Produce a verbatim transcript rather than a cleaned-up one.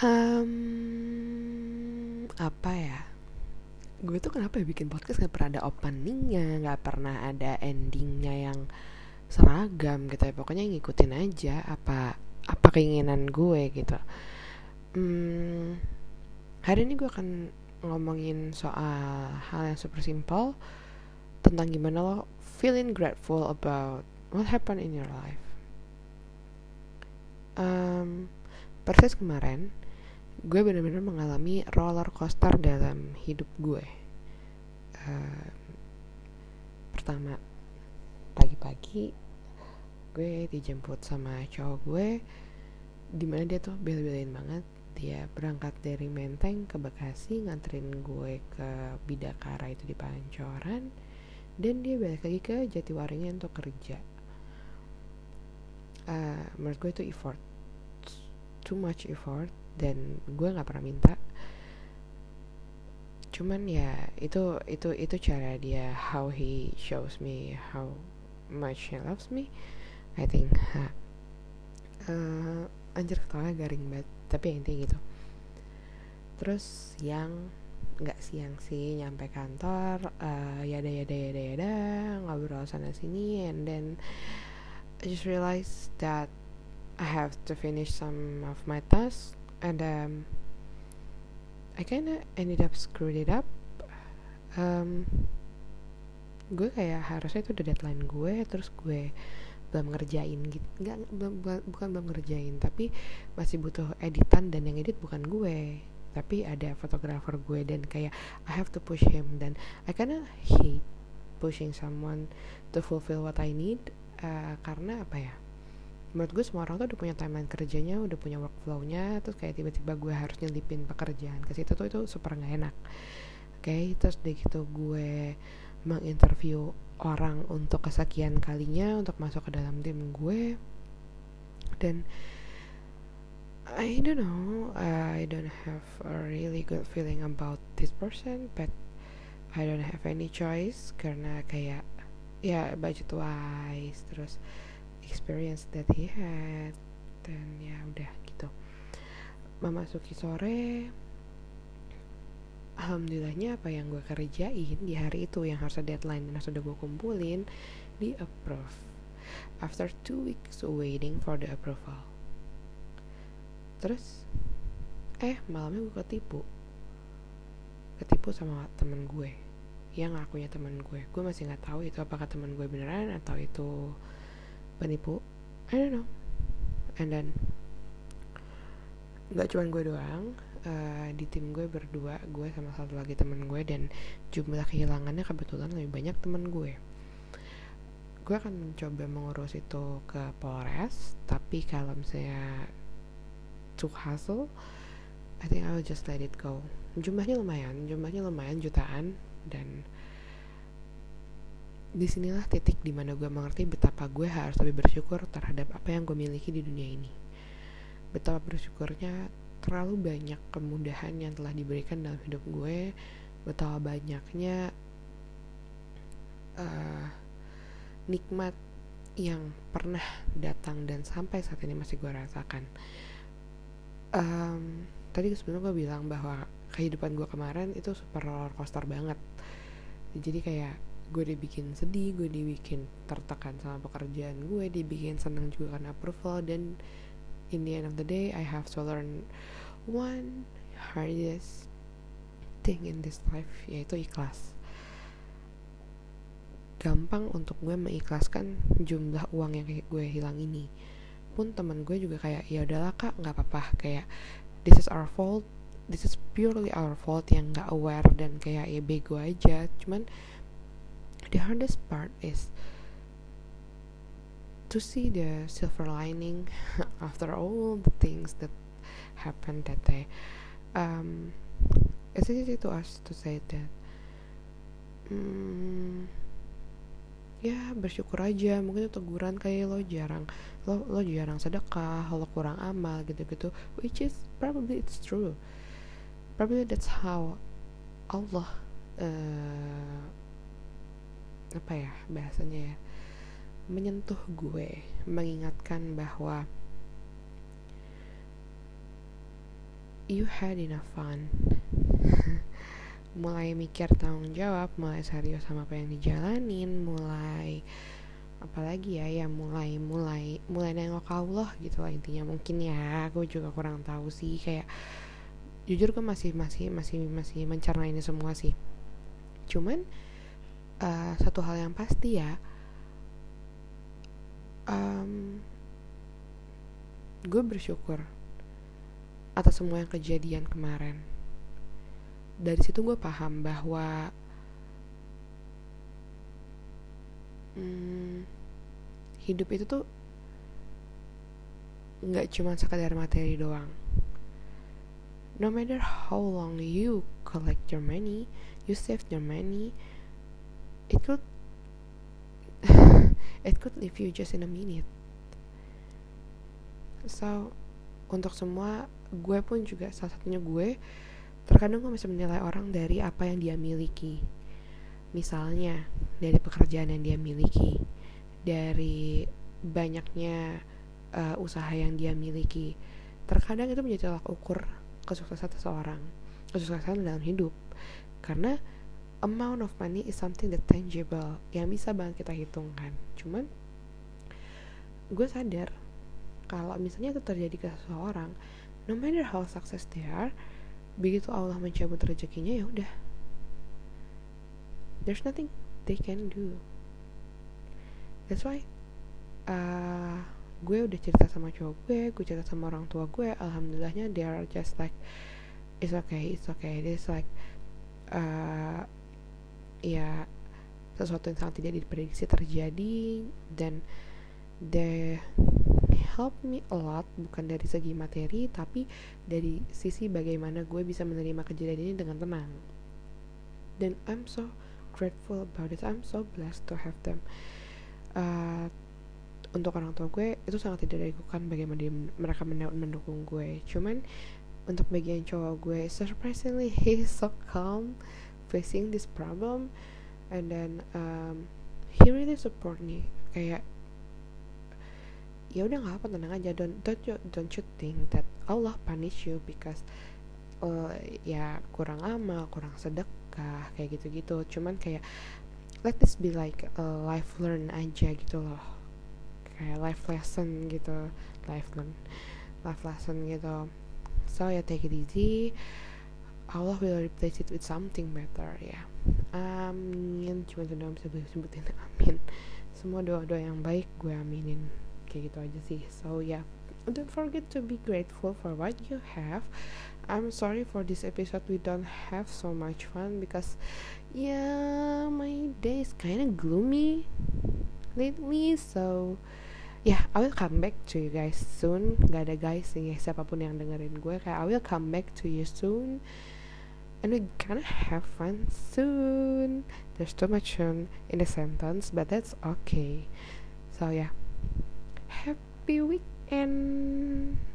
Um, apa ya? Gue tuh kenapa ya bikin podcast gak pernah ada openingnya, gak pernah ada endingnya yang seragam gitu ya. Pokoknya ngikutin aja apa apa keinginan gue gitu. Hmm, hari ini gue akan ngomongin soal hal yang super simple tentang gimana lo feeling grateful about what happened in your life. Um, persis kemarin gue benar-benar mengalami roller coaster dalam hidup gue. Uh, pertama, pagi-pagi gue dijemput sama cowok gue, dimana dia tuh bela-belain banget. Dia berangkat dari Menteng ke Bekasi, nganterin gue ke Bidakara itu di Pancoran, dan dia balik lagi ke Jatiwaringin untuk kerja. Uh, menurut gue itu effort, too much effort, dan gue nggak pernah minta. Cuman ya itu itu itu cara dia, how he shows me how much he loves me, I think. Ha. Uh, anjir ketawanya garing banget, tapi ya intinya gitu. Terus siang, nggak siang sih, nyampe kantor, uh, yada yada yada yada ngobrol sana sini, and then I just realized that I have to finish some of my tasks, and um, I kinda ended up screwed it up. Um, gue kayak harusnya itu udah deadline gue, terus gue belum ngerjain gitu, nggak belum bukan belum ngerjain, tapi masih butuh editan, dan yang edit bukan gue, tapi ada fotografer gue, dan kayak I have to push him, dan I kinda hate pushing someone to fulfill what I need, uh, karena apa ya? Menurut gue semua orang tuh udah punya timeline kerjanya, udah punya workflow-nya, terus kayak tiba-tiba gue harus nyelipin pekerjaan ke situ tuh itu super nggak enak. Oke, okay, terus deh gitu gue menginterview orang untuk kesekian kalinya untuk masuk ke dalam tim gue, dan I don't know, I don't have a really good feeling about this person, but I don't have any choice karena kayak ya budget wise, terus experience that he had, dan ya udah gitu. Memasuki sore, alhamdulillahnya apa yang gue kerjain di hari itu yang harusnya deadline dan sudah gue kumpulin di approve after two weeks waiting for the approval. Terus eh malamnya gue ketipu ketipu sama temen gue yang ngakunya temen gue. Gue masih nggak tahu itu apakah temen gue beneran atau itu penipu, I don't know. And then nggak cuma gue doang, uh, di tim gue berdua, gue sama satu lagi temen gue, dan jumlah kehilangannya kebetulan lebih banyak temen gue. Gue akan mencoba mengurus itu ke Polres, tapi kalau misalnya too hassle, I think I will just let it go. Jumlahnya lumayan, jumlahnya lumayan jutaan, dan disinilah titik dimana gue mengerti betapa gue harus lebih bersyukur terhadap apa yang gue miliki di dunia ini. Betapa bersyukurnya terlalu banyak kemudahan yang telah diberikan dalam hidup gue, betapa banyaknya uh, nikmat yang pernah datang dan sampai saat ini masih gue rasakan. Um, tadi sebenarnya gue bilang bahwa kehidupan gue kemarin itu super roller coaster banget. Jadi kayak gue dibikin sedih, gue dibikin tertekan sama pekerjaan gue, dibikin senang juga karena approval, dan in the end of the day I have to learn one hardest thing in this life, yaitu ikhlas. Gampang untuk gue mengikhlaskan jumlah uang yang gue hilang ini. Pun teman gue juga kayak ya udahlah kak, nggak apa-apa, kayak this is our fault, this is purely our fault, yang nggak aware dan kayak ya bego aja. Cuman the hardest part is to see the silver lining after all the things that happened that day. Um, it's easy to us to say that. Hmm, ya bersyukur aja. Mungkin itu teguran kayak lo jarang, lo lo jarang sedekah, lo kurang amal gitu-gitu. Which is probably it's true. Probably that's how Allah uh, apa ya bahasanya ya, menyentuh gue, mengingatkan bahwa you had enough fun. Mulai mikir tanggung jawab, mulai serius sama apa yang dijalanin, mulai apalagi ya ya mulai mulai mulai nengok Allah gitu lah intinya. Mungkin ya gue juga kurang tahu sih, kayak jujur gue masih masih masih masih mencerna ini semua sih. Cuman uh, satu hal yang pasti ya, um, gue bersyukur atas semua yang kejadian kemarin. Dari situ gue paham bahwa hmm, hidup itu tuh nggak cuma sekadar materi doang. No matter how long you collect your money, you save your money, it could it could leave you just in a minute. So untuk semua, gue pun juga salah satunya gue, terkadang gue masih menilai orang dari apa yang dia miliki. Misalnya dari pekerjaan yang dia miliki, dari banyaknya uh, usaha yang dia miliki. Terkadang itu menjadi tolak ukur kesuksesan seseorang, kesuksesan dalam hidup. Karena amount of money is something that tangible, yang bisa banget kita hitungkan. Cuman gue sadar kalau misalnya itu terjadi ke seseorang, no matter how success they are, begitu Allah mencabut rezekinya, ya udah, there's nothing they can do. That's why uh, gue udah cerita sama cowok gue, gue cerita sama orang tua gue, alhamdulillahnya they are just like it's okay, it's okay. It's like uh, ya sesuatu yang sangat tidak diprediksi terjadi, dan they help me a lot, bukan dari segi materi tapi dari sisi bagaimana gue bisa menerima kejadian ini dengan tenang. Dan I'm so grateful about it, I'm so blessed to have them. Uh, untuk orang tua gue itu sangat tidak diragukan bagaimana dia, mereka mendukung gue. Cuman untuk bagian cowok gue, surprisingly he's so calm facing this problem, and then um, he really support me. Kayak ya udah nggak apa, tenang aja, don't don't you, don't you think that Allah punish you because uh, ya kurang amal, kurang sedekah, kayak gitu-gitu. Cuman kayak let this be like a life learn aja gitu loh, kayak life lesson gitu, life learn, life lesson gitu. So ya take it easy, Allah will replace it with something better ya. Amin. Cuma itu doang bisa gue sebutin, amin. Semua doa-doa yang baik gue aminin, kayak gitu aja sih. So yeah, don't forget to be grateful for what you have. I'm sorry for this episode we don't have so much fun because yeah, my day is kind of gloomy lately. So yeah, I will come back to you guys soon. Gak ada guys nih, siapapun yang dengerin gue, kayak I will come back to you soon, and we gonna have fun soon. There's too much soon in the sentence, but that's okay. So yeah, happy weekend.